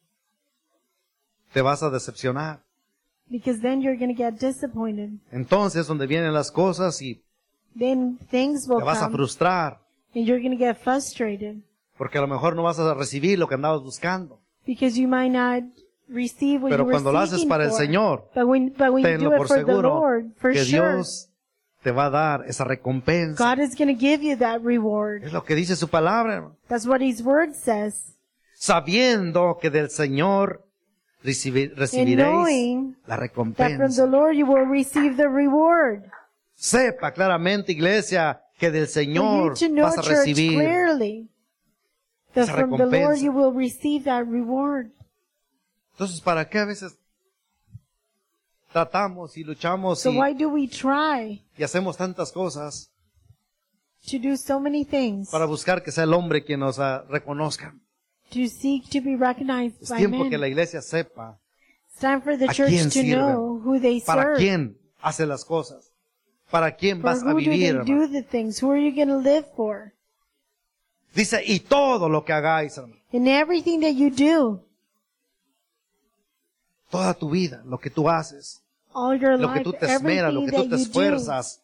Te vas a decepcionar. Because then you're going to get disappointed. Entonces es donde vienen las cosas y Then things will te vas a come frustrar. and you're going to get frustrated. Porque a lo mejor no vas a recibir lo que andabas buscando. Because you might not receive what Pero you were cuando lo haces seeking para el for. Señor, But when, but when you tenlo do it por for the seguro Lord, for que sure, Dios te va a dar esa recompensa. God is going to give you that reward. Es lo que dice su palabra, hermano. That's what His Word says. Sabiendo que del Señor recibi- And recibiréis knowing la that from recompensa. the Lord you will receive the reward. Sepa claramente, iglesia, que del For you Señor to know, vas a church, recibir. clearly that esa from the Lord recompensa. you will receive that reward. Entonces, ¿para qué a veces tratamos y luchamos So y, why do we try y hacemos tantas cosas to do so many things para buscar que sea el hombre quien nos ah, reconozca? to seek to be recognized Es by tiempo men? que la iglesia sepa It's time for the a church quién to sirven, know who they para serve. quién hace las cosas, para quién For vas a who do they vivir. do hermano. the things? Who are you going to live for? Dice, y todo lo que hagáis, hermano, In everything that you do, toda tu vida, lo que tú haces, all your lo que life, tú te esmeras, lo everything que tú that te you do. esfuerzas.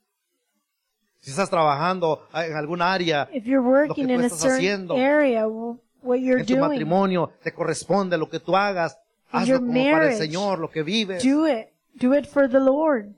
Si estás trabajando en algún área, If you're lo que working tú in a estás certain haciendo, area, w- what you're en tu doing, matrimonio, te corresponde lo que tú hagas, In hazlo your como para el marriage, Señor, lo que vives, do it. Do it for the Lord.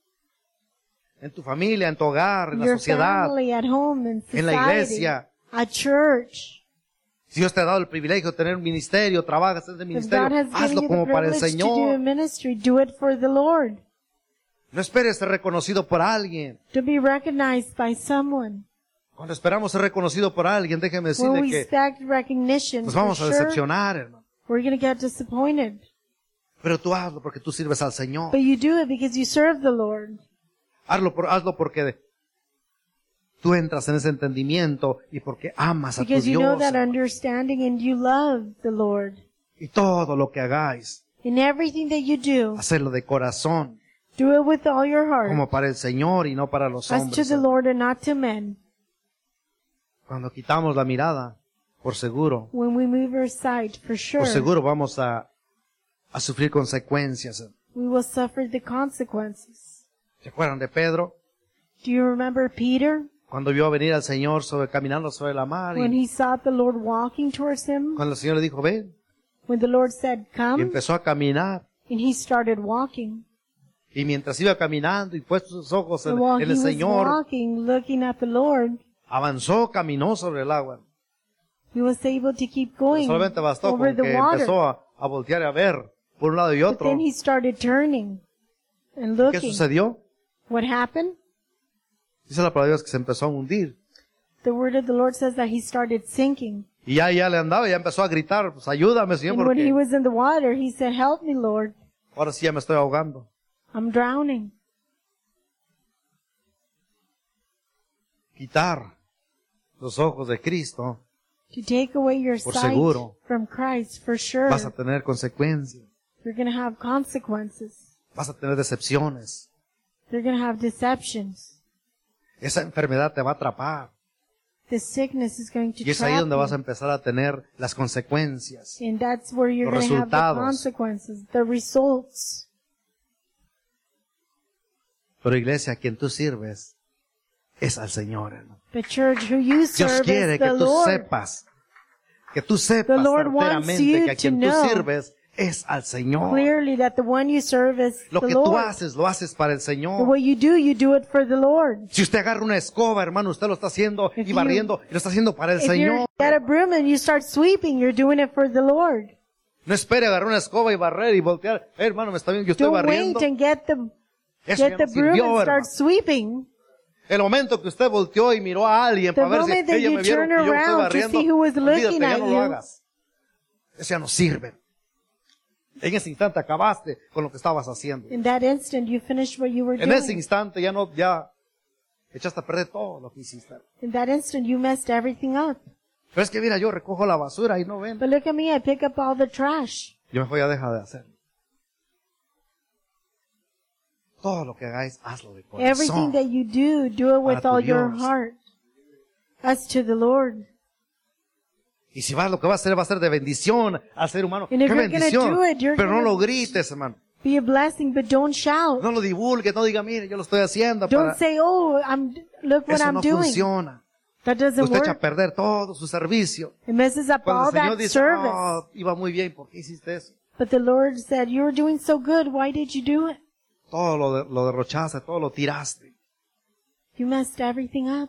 en tu familia, en tu hogar, en la Your sociedad, family, at home, in en la society, iglesia. at church. Si Dios te ha dado el privilegio de tener un ministerio, trabajas en ese If ministerio, God has given hazlo you como the para el privilege to do a Señor. ministry, do it for the Lord. No esperes ser reconocido por alguien. To be recognized by someone. Cuando esperamos ser reconocido por alguien, déjeme When decirle we que expect recognition, nos for vamos a sure, decepcionar, hermano. we're going to get disappointed. Pero tú hazlo porque tú sirves al Señor. But you do it because you serve the Lord. Hazlo, por, hazlo porque tú entras en ese entendimiento y porque amas a tu Because you know Dios. that hermano. understanding and you love the Lord. Y todo lo que hagáis, In everything that you do, hacerlo de corazón, do it with all your heart. como para el Señor y no para los As to hombres. the Lord and not to men. Cuando quitamos la mirada, por seguro, When we move our sight, for sure, por seguro vamos a, a sufrir consecuencias. we will suffer the consequences. ¿Se acuerdan de Pedro? Do you remember Peter? Cuando vio venir al Señor sobre, caminando sobre la mar When y he saw the Lord walking towards him? cuando el Señor le dijo, ven, When the Lord said, y come, empezó a caminar. and he started walking. Y mientras iba caminando y puesto sus ojos en, And while en he el was Señor, walking, looking at the Lord, avanzó, caminó sobre el agua. he was able to keep Pero going solamente bastó over con the que water. empezó a, a voltear y a ver por un lado y But otro. then he started turning and ¿Qué looking. sucedió? What happened? Dice la palabra de Dios que se empezó a hundir. The word of the Lord says that he started sinking. Y ya, ya le andaba, ya empezó a gritar, pues ayúdame, Señor, And when he porque was in the water, he said, help me, Lord. ahora sí ya me estoy ahogando. I'm drowning. Quitar los ojos de Cristo, To take away your Por sight seguro. from Christ, for sure, vas a tener consecuencias, you're going to have consequences. vas a tener decepciones, They're going to have deceptions. Esa enfermedad te va a atrapar. The sickness is going to Y es ahí trap donde vas a you. empezar a tener las consecuencias. And that's where you're Los going to have the resultados. consequences, the results. Pero iglesia, a quien tú sirves es al Señor, hermano. The church who you Dios serve quiere is que the tú Lord. sepas, que tú sepas The Lord wants certeramente you que a quien to tú know sirves es al Señor. Clearly that the one you serve is Lo the que tú Lord. haces, lo haces para el The Señor. way you do, you do it for the Lord. Si usted agarra una escoba, hermano, usted lo está haciendo If y you- barriendo, y lo está haciendo para el If you Señor. get a broom and you start sweeping, you're doing it for the Lord. No espere agarrar una escoba y barrer y voltear. Eh, hermano, me está bien, yo estoy Don't barriendo. wait and get the Eso get ya the no broom sirvió, and hermano. start sweeping. El momento que usted volteó y miró a alguien The para ver si moment that ella you me vieron turn que yo estoy around to barriendo, see who was olvídate, looking ya at no you. lo hagas. Eso ya no sirve. En ese instante acabaste con lo que estabas haciendo. In that instant, you finished what you were En ese doing. instante ya no, ya echaste a perder todo lo que hiciste. In that instant, you messed everything up. Pero es que mira, yo recojo la basura y no ven. But look at me, I pick up all the trash. Yo mejor ya deja de hacerlo. Todo lo que hagáis, hazlo de Everything corazón. that you do, do it with Para tu all your Dios. heart. As to the Lord. Y si vas, lo que va a hacer va a ser de bendición al ser humano. And if ¡Qué you're gonna bendición! do it, you're Pero no gonna- lo grites, hermano. Be a blessing, but don't shout. No lo divulgues, no diga, mire, yo lo estoy haciendo Don't para... say, oh, I'm, look what Eso I'm no doing. funciona. That doesn't Usted echa a work. perder todo su servicio. It messes up Cuando all el Señor that dice, service. oh, iba muy bien, ¿por qué hiciste eso? But the Lord said, you were doing so good. Why did you do it? Todo lo, de- lo derrochaste, todo lo tiraste. You messed everything up.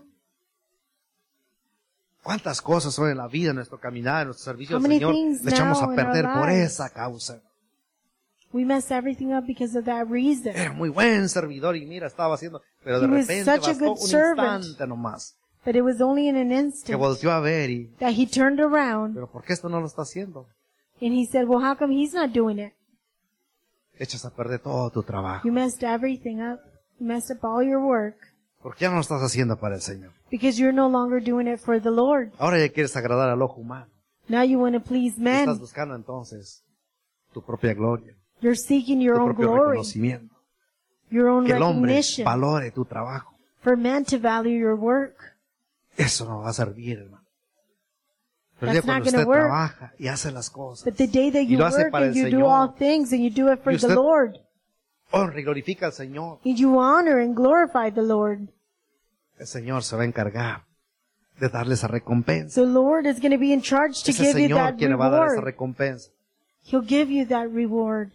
¿Cuántas cosas son en la vida, en nuestro caminar, en nuestro servicio How al many Señor? things Le echamos now a in our perder por lives? esa causa. We mess everything up because of that reason. Era muy buen servidor y mira, estaba haciendo, pero de He was repente such a bastó good un servant. instante nomás. But it was only in an Que instant volteó a ver y, that he turned around pero ¿por qué esto no lo está haciendo? and he said, well, how come he's not doing it? Echas a perder todo tu trabajo. You messed everything up. You messed up all your work ¿Por qué ya no lo estás haciendo para el Señor? because you're no longer doing it for the Lord. Ahora ya quieres agradar al ojo humano. Now you want to please Estás men. buscando entonces tu propia gloria, You're seeking your tu own propio glory, reconocimiento. your own Que el hombre recognition, valore tu trabajo. for men to value your work. Eso no va a servir, hermano. Pero el That's día cuando not gonna usted work. trabaja y hace las cosas, But the day that y you lo hace work para and el you do all Señor, things and you do it for Y the usted- Lord, honra y glorifica al Señor, and you honor and glorify the Lord, el Señor se va a encargar de darle esa recompensa. the Lord is going to be in charge to Es el give you Señor that quien le va a dar esa reward. recompensa. He'll give you that reward.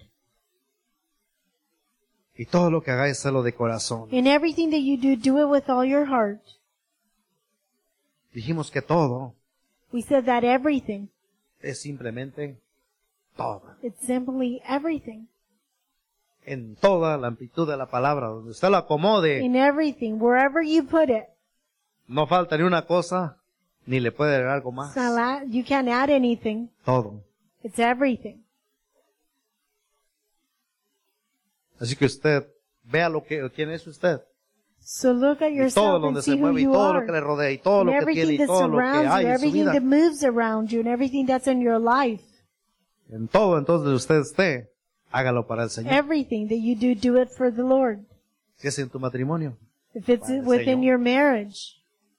Y todo lo que hagáis, hazlo de corazón. In everything that you do, do it with all your heart. Dijimos que todo We said that everything. es simplemente todo. It's simply everything. En toda la amplitud de la palabra, donde usted lo acomode, In everything, wherever you put it. no falta ni una cosa, ni le puede agregar algo más. It's not la- you can't add anything. Todo. It's everything. Así que usted vea lo que, quién es usted. So look at Y todo yourself and donde se see who mueve y you todo lo que le are. rodea y todo And lo que tiene everything y that todo lo que surrounds you, hay en su everything vida. that moves around you, and everything that's in your life. En todo entonces usted esté, hágalo para el Señor. Everything that you do, do it for the Lord. Si es en tu matrimonio, If it's Para el within Señor. your marriage,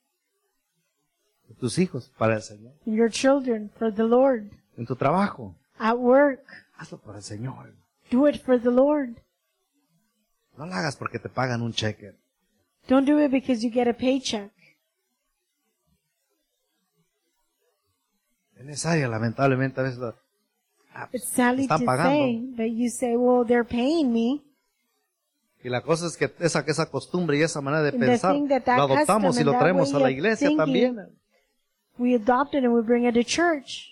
en tus hijos, para el Señor. in your children, for the Lord. En tu trabajo, At work, hazlo para el Señor. do it for the Lord. No lo hagas porque te pagan un cheque. Don't do it because you get a paycheck. En esa área, lamentablemente, a veces lo- ah, It's sadly están to pagando. say, but you say, well, they're paying me. Y la cosa es que esa, que esa costumbre y esa manera de And the pensar, thing that that lo adoptamos custom y lo and that traemos a way la of iglesia thinking- también. We adopt it and we bring it to church.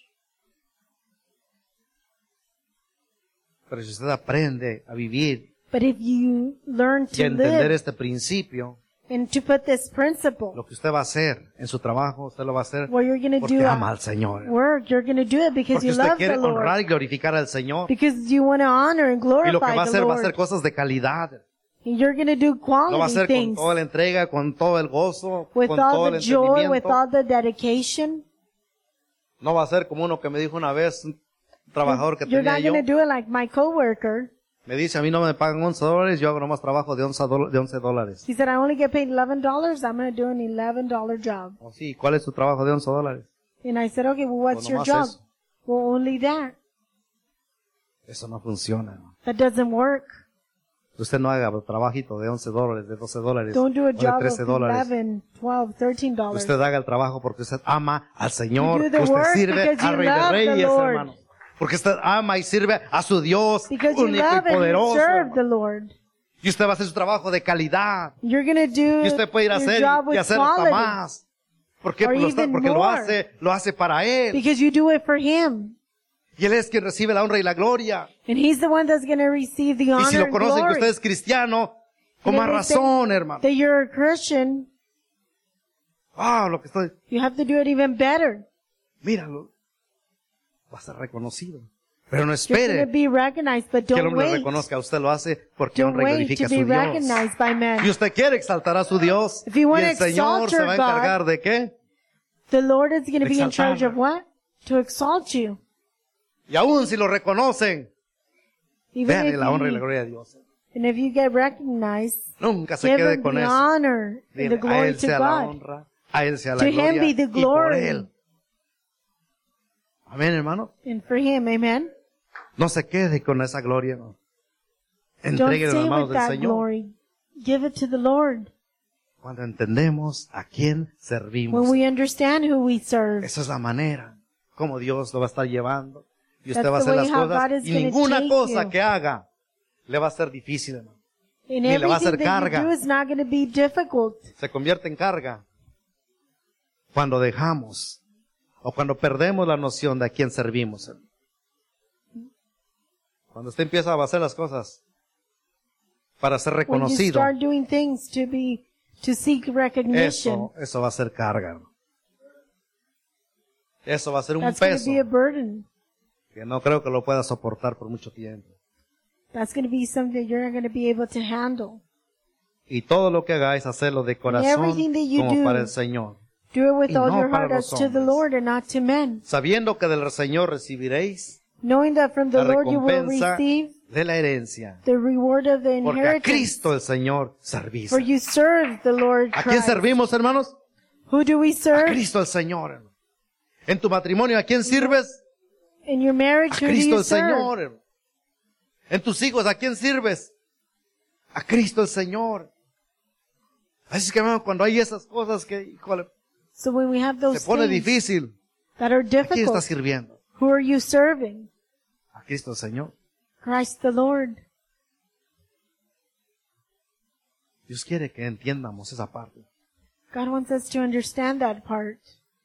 Pero si usted aprende a vivir But if you learn y a to entender live este principio, and to put this principle, lo que usted va a hacer en su trabajo, usted lo va a hacer what you're going to porque do ama at al Señor. work, you're going to do it because Porque you usted love quiere the Lord. honrar y glorificar al Señor. Because you want to honor and Y lo que glorify va a the hacer va a ser Lord. cosas de calidad. And you're going to do Lo va a quality hacer con things toda la entrega, con todo el gozo, with con todo all el the joy, with entendimiento. all the dedication. No va a ser como uno que me dijo una vez, un trabajador que You're tenía not yo, going to do it like my coworker. Me dice, a mí no me pagan once dólares, yo hago nomás trabajo de once, dol- de once dólares. He said, I only get paid eleven dollars. I'm going to do an eleven dollar job. Oh, sí, ¿cuál es tu trabajo de once dólares? And I said, okay, well, what's Pues your nomás job? eso. Well, only that. Eso no funciona, ¿no? That doesn't work. Usted no haga trabajito de once dólares, de doce dólares, Don't do o a de job trece of dólares. eleven, twelve, thirteen dollars. Usted haga el trabajo porque usted ama al Señor. You do the Usted work sirve because you al Rey de love the Reyes, Lord. hermano. Porque usted ama y sirve a su Dios Because you único love y and you poderoso. serve the hermano. Lord. Y usted va a hacer su trabajo de calidad. You're going to do Y usted puede ir a your hacer job y with hacer hasta quality. más. ¿Por qué? Or Porque, lo, está- even porque lo more. hace, lo hace para Él. Because you do it for Him. Y Él es quien recibe la honra y la gloria. And He's the one that's going to receive the Y honor si lo and conocen que glory. usted es cristiano, con And más if they say razón, hermano. that you're a Christian, Ah, lo que estoy, you have to do it even better. míralo. Va a ser reconocido. Pero no You're going espere to be recognized, but que el don't hombre wait. reconozca. Usted lo hace porque Don't honra y wait glorifica to a su be Dios. recognized by Y men. usted quiere exaltar a su Dios. If you Y wanna el Señor exalt se your va a God, encargar de qué? The Lord is going to be in charge Exaltarlo. of what? To exalt you. Y aún si lo reconocen, Even vean if la honra y la you, gloria de Dios. and if you get recognized, Nunca se give quede Him con the eso. honor and Dile, the a glory Él to sea la God. honra, a Él sea la To Him gloria be the y por glory. Él. Amén, hermano. And for Him, amen? No se quede con esa gloria, no. Don't Entregue en las stay manos with del that Señor. glory. Give it to the Lord. Cuando entendemos a quién servimos. When we understand who we serve. Esa es la manera como Dios lo va a estar llevando. Y usted That's va a the hacer way las how cosas. God is Y gonna ninguna take cosa you. que haga le va a ser difícil, hermano. And Ni le va a hacer everything that carga. you do is not going to be difficult. Se convierte en carga cuando dejamos o cuando perdemos la noción de a quién servimos. hermano. Cuando usted empieza a hacer las cosas para ser When you reconocido, start doing things to be, to seek recognition, eso, eso va a ser carga. hermano. Eso va a ser un that's going to peso be a burden. que no creo que lo pueda soportar por mucho tiempo. That's going to be something that you're not going to be able to handle. Y todo lo que hagáis, hacerlo de corazón everything that you como do, para el Señor. Do it with Y all no your para heart as los to the hombres. Lord and not to men. Sabiendo que del Señor recibiréis Knowing that from the la Lord you will recompensa receive de la herencia. the reward of the Porque a inheritance. Cristo el Señor servís. For you serve the Lord ¿A quién Christ. servimos, hermanos? Who do we A serve? Cristo el Señor. hermano. En tu matrimonio, ¿a quién sirves? In your marriage, A who do Cristo you el serve? Señor. hermano. En tus hijos, ¿a quién sirves? A Cristo el Señor. Así que, hermano, cuando hay esas cosas que, híjole, So when we have those se pone things difícil. that are ¿A quién estás difficult, sirviendo? who are you serving? A Cristo el Señor. Christ the Lord. Dios quiere que entiendamos esa parte. God wants us to understand that part.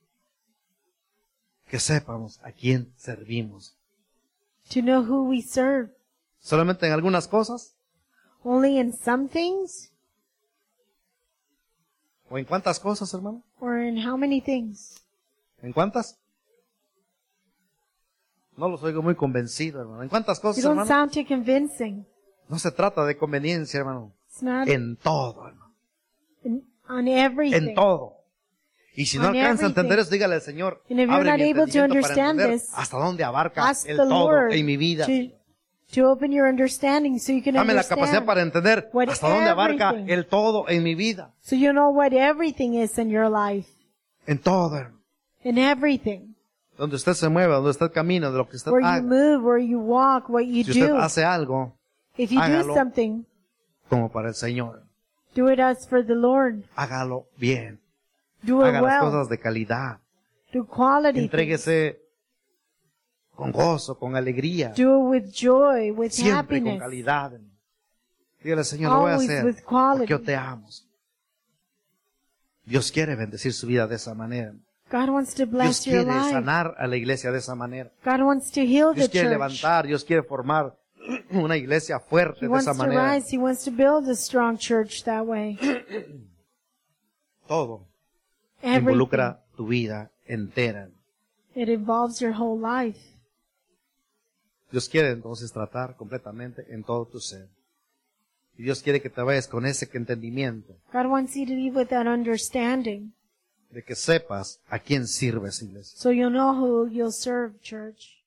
Que sepamos a quién servimos. To know who we serve. ¿Solamente en algunas cosas? Only in some things? ¿O en cuántas cosas, hermano? Or in how many things? ¿En cuántas? No los oigo muy convencido, hermano. ¿En cuántas You cosas, don't hermano? sound too convincing. No se trata de conveniencia, hermano. It's not En todo, hermano. in, on everything. En todo. Y si no On alcanza a entender everything. eso, dígale al Señor, And if you're abre not mi able to entendimiento para understand entender this, hasta dónde abarca Ask el the todo Lord en mi vida. to, to open your understanding so you can Dame la capacidad understand. para entender what hasta dónde abarca everything- el todo en mi vida. So you know what everything is in your life. En todo, hermano. In everything. Donde usted se mueva, donde usted camina, de lo que usted Where you haga. move, where you walk, what you Si usted do. hace algo, If you do hágalo. something, como para el Señor, do it as for the Lord. hágalo bien. Do it Haga las well. cosas de calidad. Do quality things. Entréguese con gozo, con alegría. Do it with joy, with Siempre con happiness. calidad. Dígale, Señor, lo voy a Always hacer with quality. porque yo te amo. Dios quiere bendecir su vida de esa manera. God wants to Dios bless your quiere life. sanar a la iglesia de esa manera. God wants to heal Dios the quiere church. levantar, Dios quiere formar una iglesia fuerte He de wants esa to manera. rise. He wants to build a strong church that way. Todo Everything. involucra tu vida entera. It involves your whole life. Dios quiere entonces tratar completamente en todo tu ser. Y Dios quiere que te vayas con ese entendimiento God wants you to live with that understanding de que sepas a quién sirves, iglesia. so you'll know who you'll serve, church.